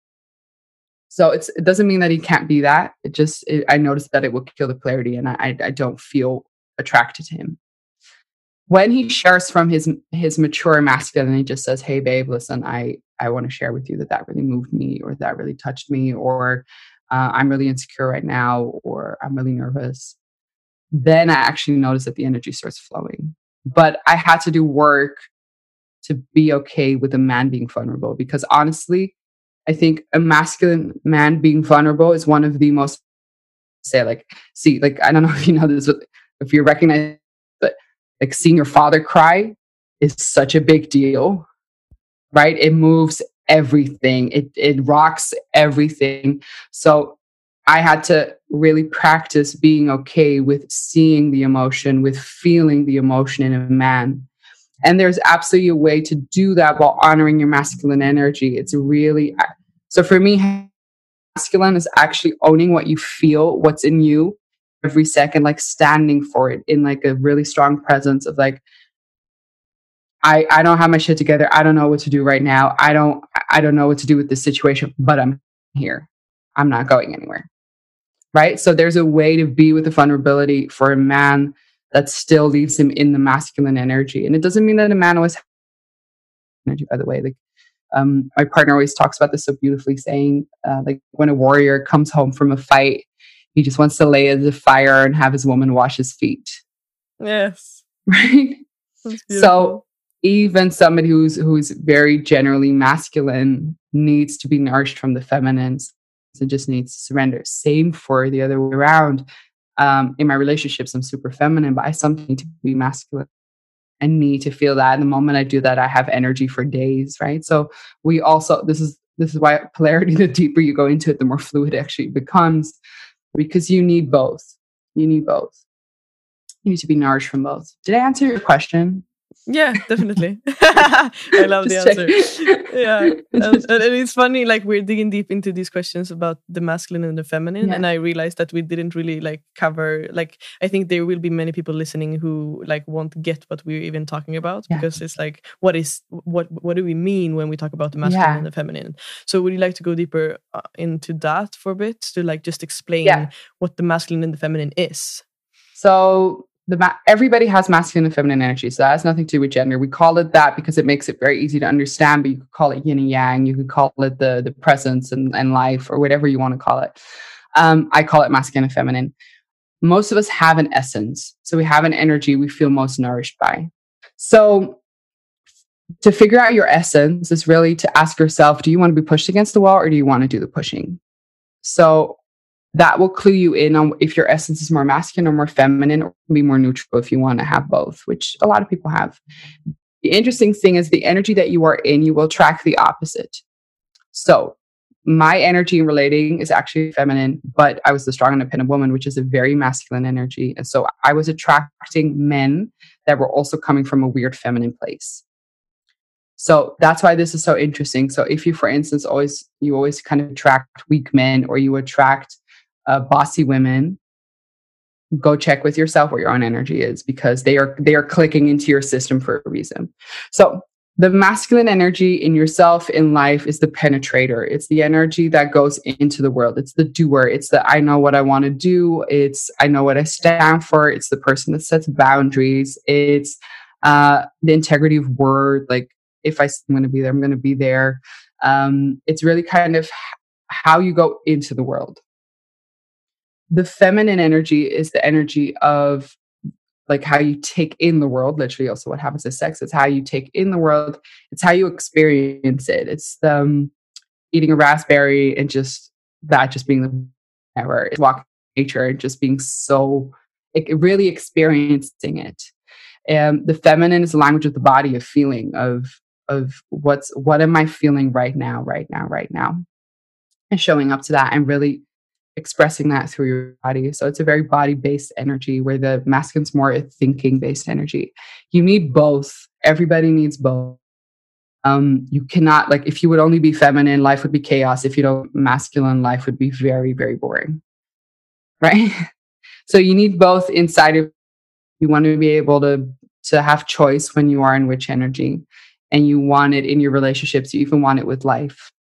So it's, it doesn't mean that he can't be that. It just, it, I noticed that it will kill the polarity, and I, I don't feel attracted to him. When he shares from his his mature masculine, and he just says, "Hey, babe, listen, I I want to share with you that that really moved me, or that really touched me, or uh, I'm really insecure right now, or I'm really nervous." Then I actually notice that the energy starts flowing. But I had to do work to be okay with a man being vulnerable, because honestly, I think a masculine man being vulnerable is one of the most, say, like, see, like, I don't know if you know this, but if you recognize, but like seeing your father cry is such a big deal, right? It moves everything. It, it rocks everything. So I had to really practice being okay with seeing the emotion, with feeling the emotion in a man. And there's absolutely a way to do that while honoring your masculine energy. It's really, so for me, masculine is actually owning what you feel, what's in you every second, like standing for it in like a really strong presence of like, I, I don't have my shit together. I don't know what to do right now. I don't, I don't know what to do with this situation, but I'm here. I'm not going anywhere. Right. So there's a way to be with the vulnerability for a man that still leaves him in the masculine energy. And it doesn't mean that a man always has energy, by the way. Like, um, my partner always talks about this so beautifully, saying, uh, like, when a warrior comes home from a fight, he just wants to lay at the fire and have his woman wash his feet. Yes. Right. So even somebody who's who's very generally masculine needs to be nourished from the feminines. It just needs to surrender. Same for the other way around. Um, in my relationships, I'm super feminine, but I sometimes need to be masculine. I need to feel that. And the moment I do that, I have energy for days, right? So we also, this is this is why polarity, the deeper you go into it, the more fluid it actually becomes, because you need both. You need both. You need to be nourished from both. Did I answer your question? Yeah, definitely. I love the answer. Yeah. And, and it's funny, like, we're digging deep into these questions about the masculine and the feminine. Yeah. And I realized that we didn't really like cover, like, I think there will be many people listening who like won't get what we're even talking about, yeah. because it's like, what is, what, what do we mean when we talk about the masculine yeah. and the feminine? So would you like to go deeper uh, into that for a bit, to like just explain yeah. what the masculine and the feminine is? So The ma- everybody has masculine and feminine energy, so that has nothing to do with gender. We call it that because it makes it very easy to understand, but you could call it yin and yang, you could call it the the presence and, and life, or whatever you want to call it. Um, I call it masculine and feminine. Most of us have an essence, so we have an energy we feel most nourished by. So to figure out your essence is really to ask yourself, do you want to be pushed against the wall, or do you want to do the pushing? So that will clue you in on if your essence is more masculine or more feminine, or be more neutral if you want to have both, which a lot of people have. The interesting thing is the energy that you are in, you will attract the opposite. So my energy in relating is actually feminine, but I was the strong, independent woman, which is a very masculine energy. And so I was attracting men that were also coming from a weird feminine place. So that's why this is so interesting. So if you, for instance, always, you always kind of attract weak men, or you attract uh, bossy women, go check with yourself what your own energy is, because they are, they are clicking into your system for a reason. So the masculine energy in yourself, in life, is the penetrator. It's the energy that goes into the world. It's the doer. It's the, I know what I want to do. It's, I know what I stand for. It's the person that sets boundaries. It's uh, the integrity of word. Like, if I, I'm going to be there, I'm going to be there. Um, it's really kind of how you go into the world. The feminine energy is the energy of like how you take in the world, literally also what happens to sex. It's how you take in the world. It's how you experience it. It's um, eating a raspberry and just that just being the ever. It's walking nature and just being so, like, really experiencing it. And the feminine is the language of the body, of feeling, of of what's, what am I feeling right now, right now, right now, and showing up to that and really expressing that through your body. So it's a very body-based energy, where the masculine's more a thinking-based energy. You need both. Everybody needs both. Um, you cannot, like, if you would only be feminine, life would be chaos. If you don't masculine, life would be very, very boring. Right? So you need both inside of you. Want to be able to, to have choice when you are in which energy, and you want it in your relationships. You even want it with life.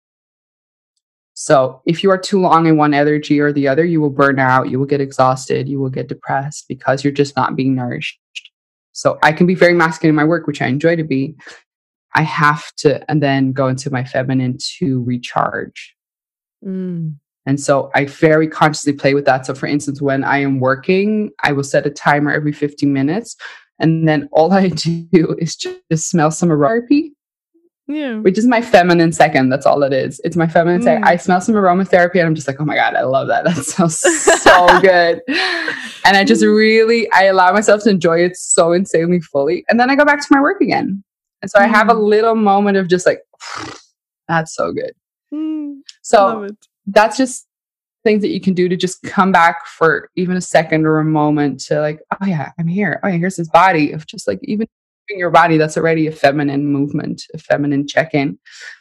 So if you are too long in one energy or the other, you will burn out, you will get exhausted, you will get depressed, because you're just not being nourished. So I can be very masculine in my work, which I enjoy to be. I have to, and then go into my feminine to recharge. Mm. And so I very consciously play with that. So for instance, when I am working, I will set a timer every fifteen minutes. And then all I do is just, just smell some aromatherapy. Yeah. Which is my feminine second. That's all it is. It's my feminine mm. second. I smell some aromatherapy and I'm just like, oh my God, I love that. That smells so good. And I just really, I allow myself to enjoy it so insanely fully. And then I go back to my work again. And so mm. I have a little moment of just like, that's so good. Mm. So that's just things that you can do to just come back for even a second or a moment to like, oh yeah, I'm here. Oh yeah, here's this body of just like, even in your body, that's already a feminine movement, a feminine check-in.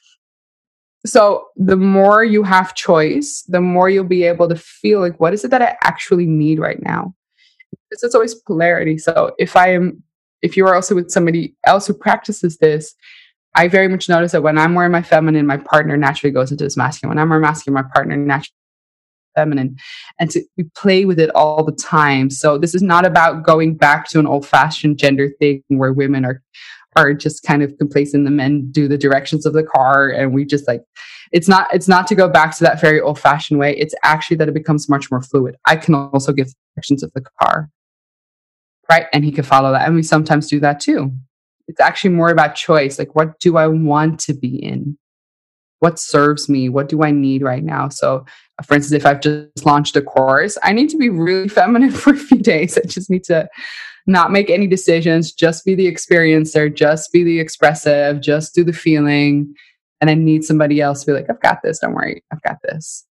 So the more you have choice, the more you'll be able to feel like, what is it that I actually need right now? Because it's always polarity. So if I am, if you are also with somebody else who practices this, I very much notice that when I'm more in my feminine, my partner naturally goes into this masculine. When I'm more masculine, my partner naturally feminine, and to we play with it all the time. So this is not about going back to an old-fashioned gender thing where women are are just kind of complacent. The men do the directions of the car, and we just like, it's not it's not to go back to that very old-fashioned way. It's actually that it becomes much more fluid. I can also give directions of the car, right? And he can follow that, and we sometimes do that too. It's actually more about choice. Like, what do I want to be in? What serves me? What do I need right now? So, for instance, if I've just launched a course, I need to be really feminine for a few days. I just need to not make any decisions, just be the experiencer, just be the expressive, just do the feeling. And I need somebody else to be like, I've got this. Don't worry. I've got this.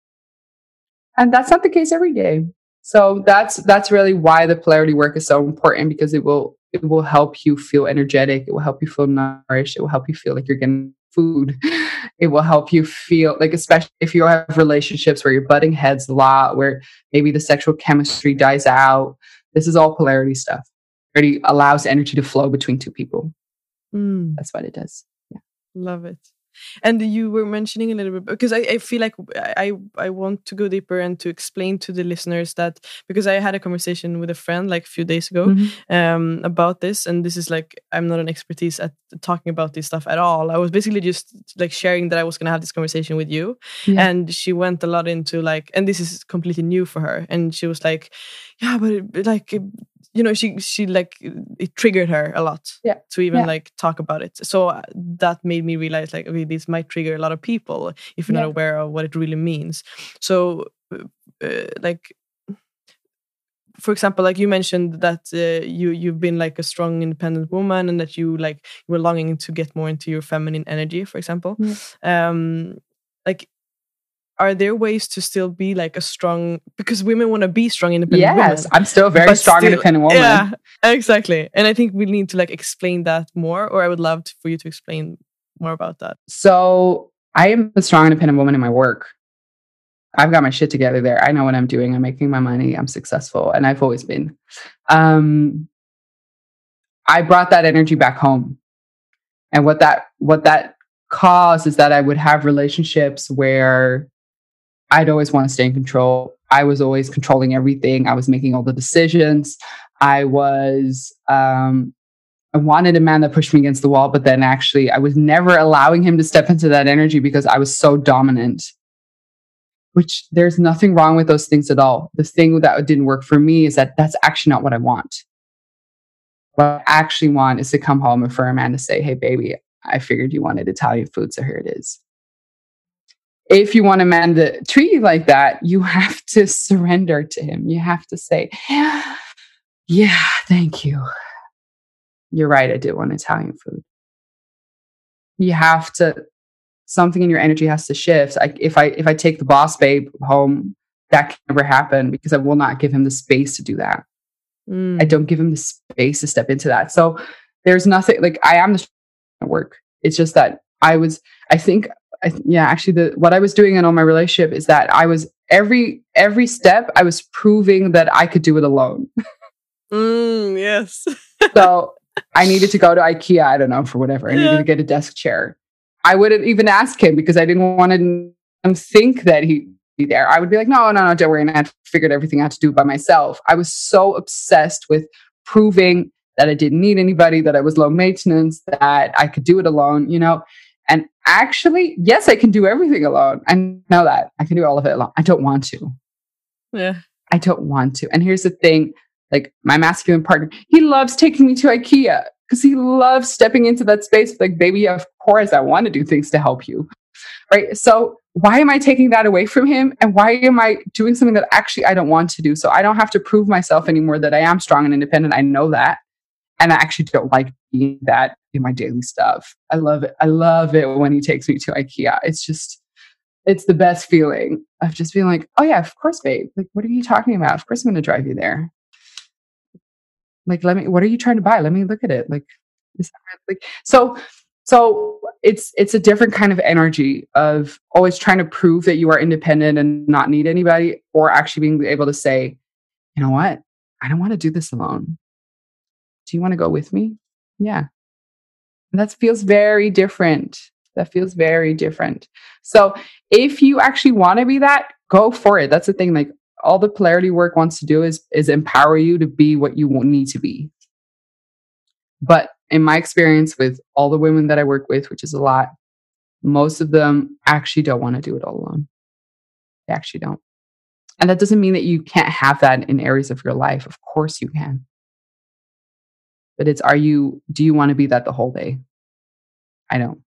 And that's not the case every day. So that's that's really why the polarity work is so important, because it will it will help you feel energetic. It will help you feel nourished. It will help you feel like you're getting food. It will help you feel like, especially if you have relationships where you're butting heads a lot, where maybe the sexual chemistry dies out. This is all polarity stuff. It really allows energy to flow between two people. Mm. That's what it does. Yeah. Love it. And you were mentioning a little bit, because I, I feel like I, I want to go deeper and to explain to the listeners that, because I had a conversation with a friend like a few days ago mm-hmm. um, about this. And this is like, I'm not an expertise at talking about this stuff at all. I was basically just like sharing that I was going to have this conversation with you. Yeah. And she went a lot into like, and this is completely new for her. And she was like, yeah, but it, like, it, you know, she she like it triggered her a lot yeah. to even yeah. like talk about it. So that made me realize like, okay, this might trigger a lot of people if you're yeah. not aware of what it really means. So uh, like, for example, like you mentioned that uh, you you've been like a strong, independent woman, and that you like you were longing to get more into your feminine energy, for example. Yeah. Um, like, are there ways to still be like a strong, because women want to be strong, independent yes, women. I'm still a very but strong, still- independent woman. Yeah, exactly. And I think we need to like explain that more, or I would love to, for you to explain more about that. So I am a strong, independent woman in my work. I've got my shit together there. I know what I'm doing. I'm making my money. I'm successful. And I've always been. Um, I brought that energy back home. And what that, what that caused is that I would have relationships where I'd always want to stay in control. I was always controlling everything. I was making all the decisions. I was, um, I wanted a man that pushed me against the wall, but then actually I was never allowing him to step into that energy because I was so dominant, which there's nothing wrong with those things at all. The thing that didn't work for me is that that's actually not what I want. What I actually want is to come home and for a man to say, hey, baby, I figured you wanted Italian food, so here it is. If you want a man to treat you like that, you have to surrender to him. You have to say, yeah, yeah, thank you. You're right. I did want Italian food. You have to, something in your energy has to shift. I, if I, if I take the boss babe home, that can never happen because I will not give him the space to do that. Mm. I don't give him the space to step into that. So there's nothing like I am the work. It's just that I was, I think, I, yeah, actually the, what I was doing in all my relationship is that I was every, every step I was proving that I could do it alone. Mm, yes. So I needed to go to IKEA. I don't know, for whatever. I yeah. needed to get a desk chair. I wouldn't even ask him because I didn't want to think that he'd be there. I would be like, no, no, no, don't worry. And I had figured everything out to do by myself. I was so obsessed with proving that I didn't need anybody, that I was low maintenance, that I could do it alone, you know? And actually, yes, I can do everything alone. I know that. I can do all of it alone. I don't want to. Yeah. I don't want to. And here's the thing. Like my masculine partner, he loves taking me to IKEA because he loves stepping into that space. Like, baby, of course, I want to do things to help you. Right. So why am I taking that away from him? And why am I doing something that actually I don't want to do? So I don't have to prove myself anymore that I am strong and independent. I know that. And I actually don't like being that in my daily stuff. I love it. I love it when he takes me to IKEA. It's just, it's the best feeling of just being like, oh yeah, of course, babe. Like, what are you talking about? Of course I'm going to drive you there. Like, let me, what are you trying to buy? Let me look at it. Like, is that like, so, so it's, it's a different kind of energy of always trying to prove that you are independent and not need anybody, or actually being able to say, you know what? I don't want to do this alone. Do you want to go with me? Yeah. And that feels very different. That feels very different. So if you actually want to be that, go for it. That's the thing. Like, all the polarity work wants to do is, is empower you to be what you need to be. But in my experience with all the women that I work with, which is a lot, most of them actually don't want to do it all alone. They actually don't. And that doesn't mean that you can't have that in areas of your life. Of course you can. But it's, are you, do you want to be that the whole day? I don't.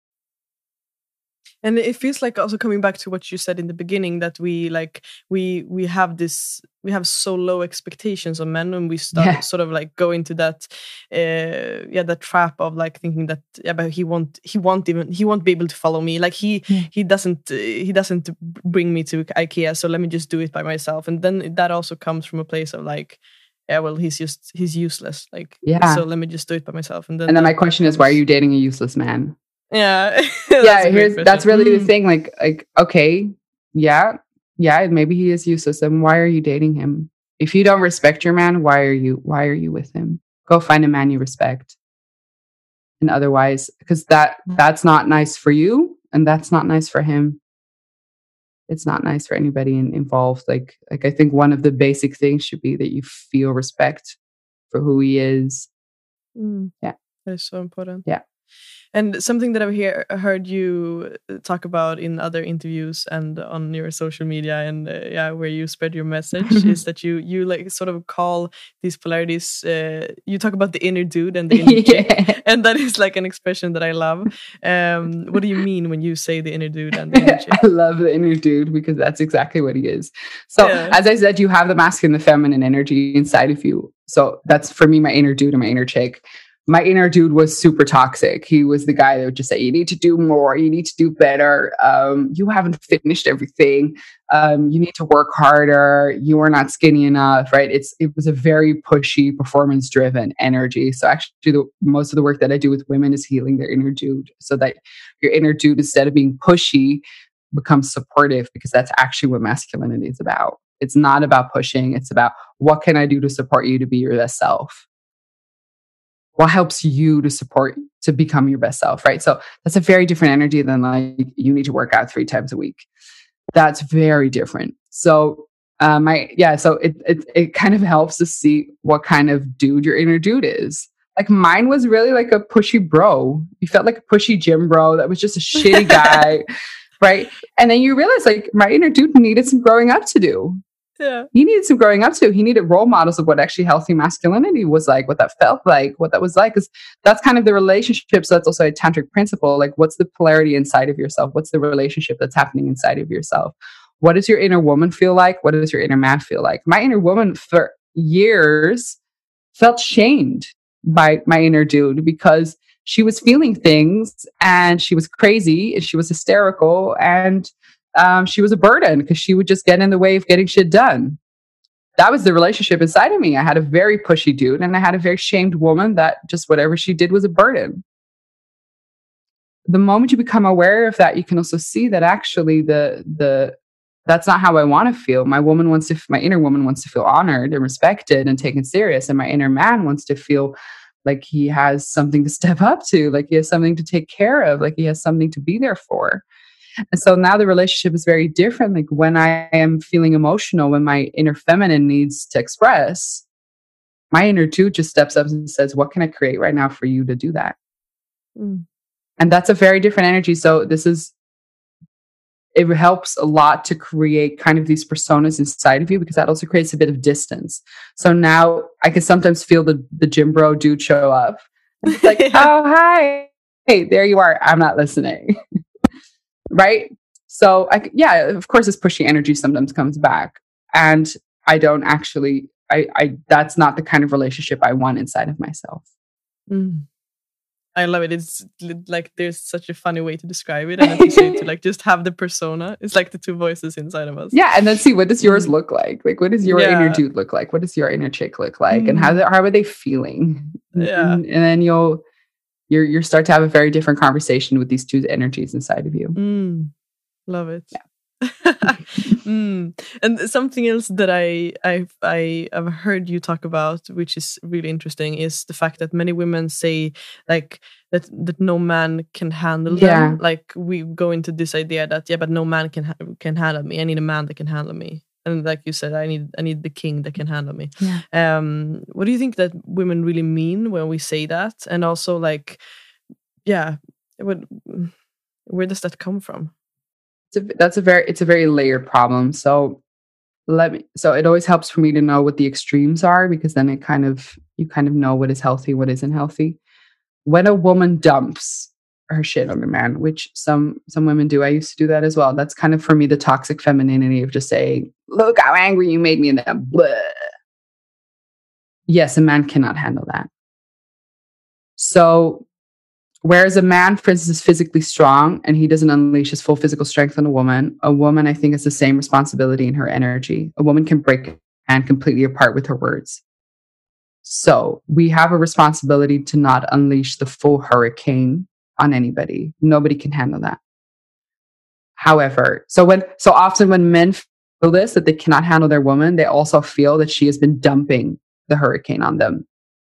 And it feels like also coming back to what you said in the beginning, that we like we we have this we have so low expectations on men, and we start yeah. sort of like go into that uh, yeah that trap of like thinking that yeah but he won't he won't even he won't be able to follow me, like he yeah. he doesn't uh, he doesn't bring me to IKEA, so let me just do it by myself. And then that also comes from a place of like, yeah, well, he's just he's useless, like yeah so let me just do it by myself. And then and then my question comes, is, why are you dating a useless man? Yeah. yeah, here's that's really mm. the thing. Like, like, okay, yeah, yeah, maybe he is useless. Then why are you dating him? If you don't respect your man, why are you why are you with him? Go find a man you respect. And otherwise, because that that's not nice for you, and that's not nice for him. It's not nice for anybody in, involved. Like, like I think one of the basic things should be that you feel respect for who he is. Mm. Yeah, that is so important. Yeah. And something that I've hear, heard you talk about in other interviews and on your social media and uh, yeah, where you spread your message is that you you like sort of call these polarities. Uh, you talk about the inner dude and the inner yeah. chick, and that is like an expression that I love. Um, what do you mean when you say the inner dude and the inner chick? I love the inner dude because that's exactly what he is. So yeah. as I said, you have the masculine and the feminine energy inside of you. So that's for me, my inner dude and my inner chick. my inner dude was super toxic. He was the guy that would just say, you need to do more, you need to do better. Um, you haven't finished everything. Um, you need to work harder. You are not skinny enough, right? It's it was a very pushy, performance driven energy. So actually the, most of the work that I do with women is healing their inner dude, so that your inner dude, instead of being pushy, becomes supportive, because that's actually what masculinity is about. It's not about pushing. It's about, what can I do to support you to be your best self? What helps you to support, to become your best self, right? So that's a very different energy than like, you need to work out three times a week. That's very different. So um, I, yeah, so it, it, it kind of helps to see what kind of dude your inner dude is. Like mine was really like a pushy bro. You felt like a pushy gym bro that was just a shitty guy, right? And then you realize like my inner dude needed some growing up to do. Yeah. He needed some growing up to. He needed role models of what actually healthy masculinity was like, what that felt like, what that was like. Because that's kind of the relationship. So that's also a tantric principle. Like, what's the polarity inside of yourself? What's the relationship that's happening inside of yourself? What does your inner woman feel like? What does your inner man feel like? My inner woman for years felt shamed by my inner dude, because she was feeling things and she was crazy and she was hysterical, and Um, she was a burden because she would just get in the way of getting shit done. That was the relationship inside of me. I had a very pushy dude and I had a very shamed woman that just whatever she did was a burden. The moment you become aware of that, you can also see that actually the the that's not how I want to feel. My woman wants to, my inner woman wants to feel honored and respected and taken serious, and my inner man wants to feel like he has something to step up to, like he has something to take care of, like he has something to be there for. And so now the relationship is very different. Like when I am feeling emotional, when my inner feminine needs to express, my inner dude just steps up and says, what can I create right now for you to do that? Mm. And that's a very different energy. So this is, it helps a lot to create kind of these personas inside of you, because that also creates a bit of distance. So now I can sometimes feel the, the gym bro dude show up. And it's like, oh, hi. Hey, there you are. I'm not listening. Right? So, I, yeah, of course, this pushy energy sometimes comes back. And I don't actually, I, I that's not the kind of relationship I want inside of myself. Mm. I love it. It's like there's such a funny way to describe it. And as you say, to like just have the persona. It's like the two voices inside of us. Yeah. And then see, what does yours mm. look like? Like, what does your yeah. inner dude look like? What does your inner chick look like? Mm. And how, how are they feeling? Yeah. And, and then you'll, You're you start to have a very different conversation with these two energies inside of you. Mm, love it. Yeah. mm. And something else that I I've I have heard you talk about, which is really interesting, is the fact that many women say like that that no man can handle yeah. them. Like we go into this idea that yeah, but no man can ha- can handle me. I need a man that can handle me. And like you said, I need I need the king that can handle me. Yeah. Um, what do you think that women really mean when we say that? And also, like, yeah, what, where does that come from? It's a, that's a very it's a very layered problem. So let me. So it always helps for me to know what the extremes are, because then it kind of you kind of know what is healthy, what isn't healthy. When a woman dumps her shit on a man, which some some women do. I used to do that as well. That's kind of for me the toxic femininity of just saying, look how angry you made me, and then blah. Yes, a man cannot handle that. So whereas a man, for instance, is physically strong and he doesn't unleash his full physical strength on a woman, a woman, I think, has the same responsibility in her energy. A woman can break a man completely apart with her words. So we have a responsibility to not unleash the full hurricane on anybody. Nobody can handle that. However, so when so often when men feel this, that they cannot handle their woman, they also feel that she has been dumping the hurricane on them.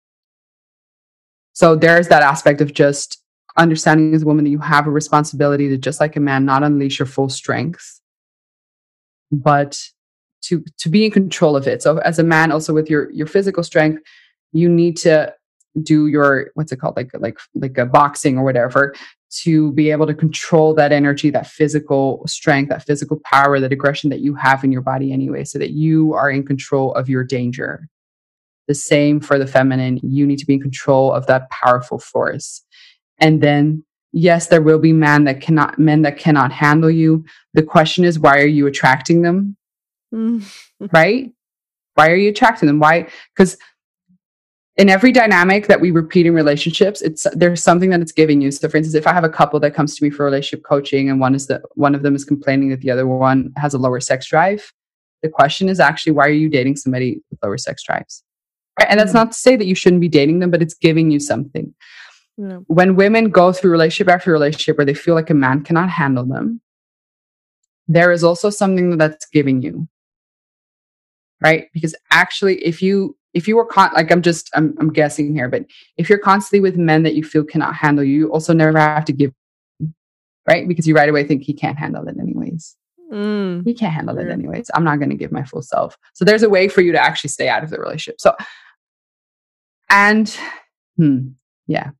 So there's that aspect of just understanding as a woman that you have a responsibility to, just like a man, not unleash your full strength, but to to be in control of it. So as a man, also with your your physical strength, you need to do your, what's it called, like like like a boxing or whatever, to be able to control that energy, that physical strength, that physical power, that aggression that you have in your body anyway, so that you are in control of your danger. The same for the feminine. You need to be in control of that powerful force. And then, yes, there will be men that cannot, men that cannot handle you. The question is, why are you attracting them? Mm. Right? Why are you attracting them? Why? Because in every dynamic that we repeat in relationships, it's there's something that it's giving you. So for instance, if I have a couple that comes to me for relationship coaching and one is that one of them is complaining that the other one has a lower sex drive, the question is actually, why are you dating somebody with lower sex drives? Right? And that's not to say that you shouldn't be dating them, but it's giving you something. Yeah. When women go through relationship after relationship where they feel like a man cannot handle them, there is also something that's giving you. Right? Because actually, if you if you were con- like I'm just I'm I'm guessing here, but if you're constantly with men that you feel cannot handle you, you also never have to give, right? Because you right away think he can't handle it anyways. Mm, he can't handle yeah. it anyways. I'm not going to give my full self. So there's a way for you to actually stay out of the relationship. So, and hmm, yeah,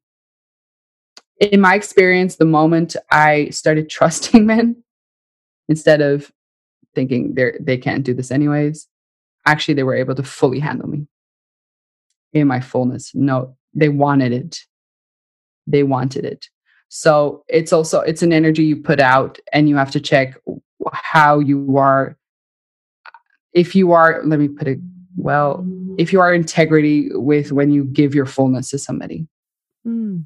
in my experience, the moment I started trusting men instead of thinking they they can't do this anyways, actually they were able to fully handle me in my fullness. No, they wanted it. They wanted it. So it's also, it's an energy you put out and you have to check how you are. If you are, let me put it well, if you are integrity with when you give your fullness to somebody. Mm.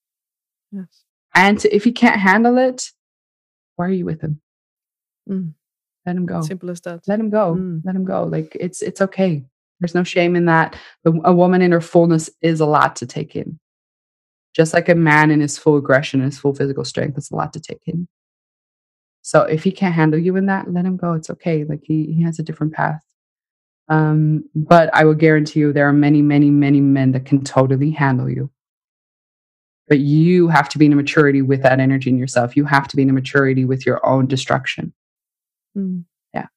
Yes. And if he can't handle it, why are you with him? Mm. Let him go. Simple as that. Let him go. Mm. Let him go. Like it's, it's okay. There's no shame in that. A woman in her fullness is a lot to take in. Just like a man in his full aggression and his full physical strength, it's a lot to take in. So if he can't handle you in that, let him go. It's okay. Like he, he has a different path. Um, but I will guarantee you there are many, many, many men that can totally handle you. But you have to be in a maturity with that energy in yourself. You have to be in a maturity with your own destruction. Mm. Yeah.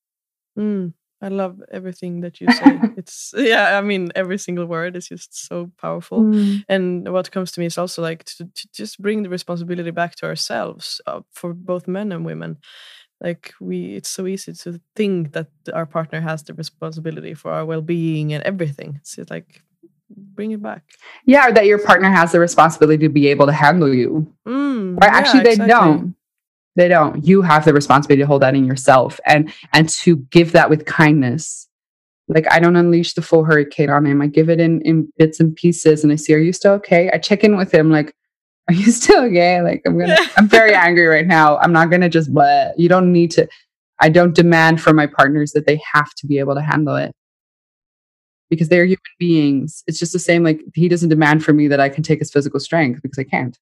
Mm. I love everything that you say. It's, yeah, I mean, every single word is just so powerful. Mm. And what comes to me is also like to, to just bring the responsibility back to ourselves uh, for both men and women. Like we, it's so easy to think that our partner has the responsibility for our well-being and everything. It's just like, bring it back. Yeah, or that your partner has the responsibility to be able to handle you. Mm, right? Yeah, Actually, they exactly. don't. They don't. You have the responsibility to hold that in yourself and and to give that with kindness. Like I don't unleash the full hurricane on him. I give it in, in bits and pieces and I see, are you still okay? I check in with him like, are you still okay? Like I'm gonna I'm very angry right now. I'm not gonna just blah. You don't need to. I don't demand from my partners that they have to be able to handle it. Because they're human beings. It's just the same, like he doesn't demand from me that I can take his physical strength because I can't.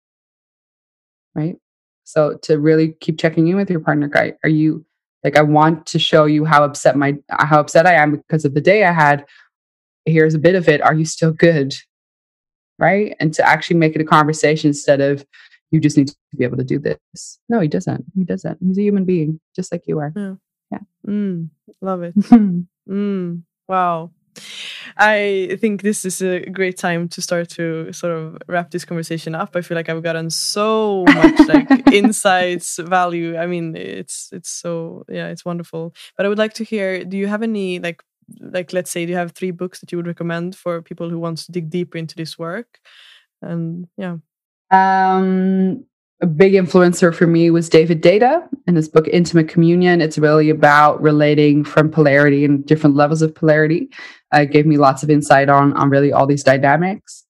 Right? So to really keep checking in with your partner, guy, are you like, I want to show you how upset my, how upset I am because of the day I had. Here's a bit of it. Are you still good? Right? And to actually make it a conversation instead of, you just need to be able to do this. No, he doesn't. He doesn't. He's a human being, just like you are. Yeah. Yeah. Mm, love it. mm, wow. I think this is a great time to start to sort of wrap this conversation up. I feel like I've gotten so much like insights, value. I mean, it's it's so yeah, it's wonderful. But I would like to hear, do you have any like like let's say, do you have three books that you would recommend for people who want to dig deeper into this work? And yeah. Um A big influencer for me was David Deida and his book, Intimate Communion. It's really about relating from polarity and different levels of polarity. Uh, it gave me lots of insight on, on really all these dynamics.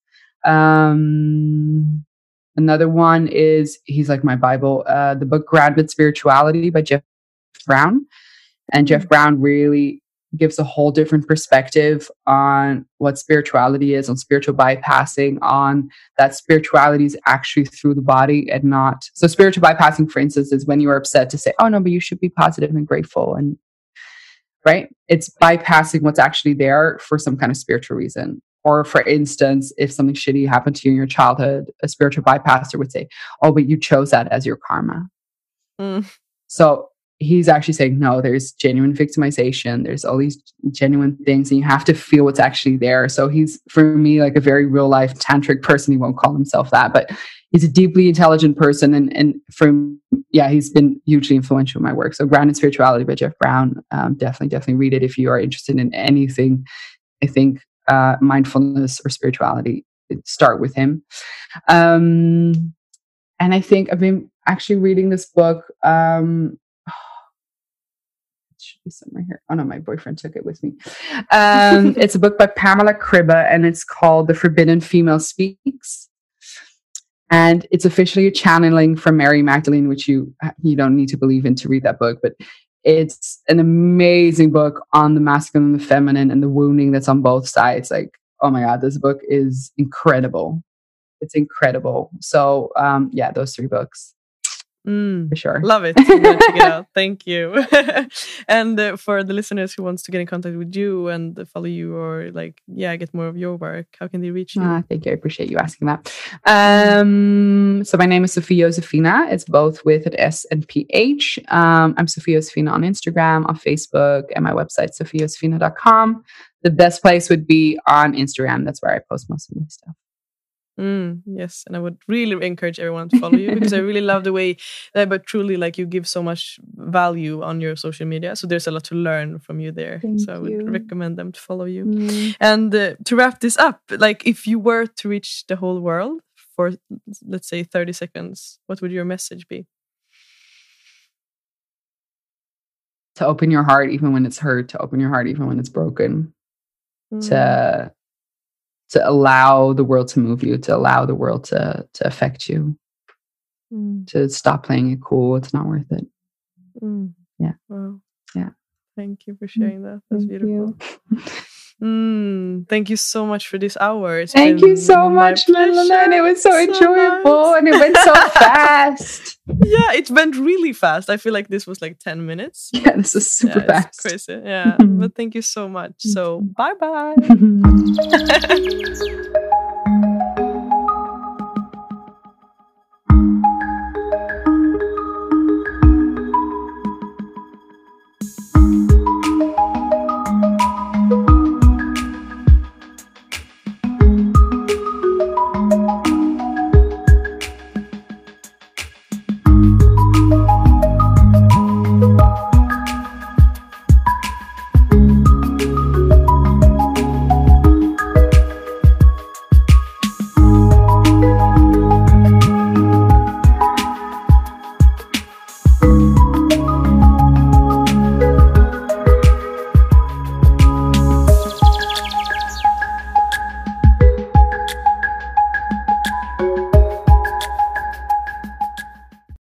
Um, another one is, he's like my Bible, uh, the book Grounded Spirituality by Jeff Brown. And Jeff Brown really gives a whole different perspective on what spirituality is, on spiritual bypassing, on that spirituality is actually through the body and not. So spiritual bypassing, for instance, is when you are upset to say, oh no, but you should be positive and grateful. And right. It's bypassing what's actually there for some kind of spiritual reason. Or for instance, if something shitty happened to you in your childhood, a spiritual bypasser would say, oh, but you chose that as your karma. Mm. So he's actually saying, no, there's genuine victimization. There's all these genuine things and you have to feel what's actually there. So he's, for me, like a very real life tantric person. He won't call himself that, but he's a deeply intelligent person. And, and from, yeah, he's been hugely influential in my work. So Grounded Spirituality by Jeff Brown. Um, definitely, definitely read it if you are interested in anything. I think uh, mindfulness or spirituality, start with him. Um, and I think I've been actually reading this book, um, be somewhere here. Oh no, my boyfriend took it with me. Um, it's a book by Pamela Kribbe, and it's called The Forbidden Female Speaks. And it's officially a channeling from Mary Magdalene, which you you don't need to believe in to read that book, but it's an amazing book on the masculine and the feminine and the wounding that's on both sides. Like, oh my God, this book is incredible. It's incredible. So um, yeah, those three books. Mm, for sure. Love it. I'm gonna check it out. Thank you. And uh, for the listeners who wants to get in contact with you and follow you, or like, yeah, get more of your work, how can they reach you? Ah, thank you. I appreciate you asking that. Um, so my name is Sofie Josefina. It's both with an S and P H. Um, I'm Sofie Josefina on Instagram, on Facebook, and my website, sofie josefina dot com. The best place would be on Instagram. That's where I post most of my stuff. Mm, yes, and I would really encourage everyone to follow you because I really love the way that, but truly, like, you give so much value on your social media. So there's a lot to learn from you there. Thank so I would you. recommend them to follow you. Mm. And uh, to wrap this up, like, if you were to reach the whole world for, let's say, thirty seconds, what would your message be? To open your heart even when it's hurt, to open your heart even when it's broken, mm. to to allow the world to move you, to allow the world to to affect you, mm. to stop playing it cool. It's not worth it. Mm. Yeah. Wow. Yeah. Thank you for sharing that. That's Thank beautiful. Mm, thank you so much for this hour. It's thank you so much, Madeleine. It was so, so enjoyable nice. And it went so fast. Yeah, it went really fast. I feel like this was like ten minutes. Yeah, this is super yeah, fast. It's crazy. Yeah, but thank you so much. So bye bye.